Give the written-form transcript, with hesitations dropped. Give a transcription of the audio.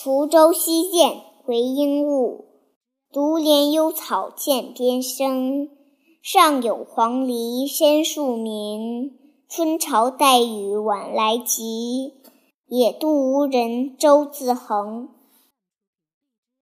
滁州西涧为应物，独怜幽草涧边生。上有黄鹂深树鸣，春潮带雨晚来急。野渡无人舟自横，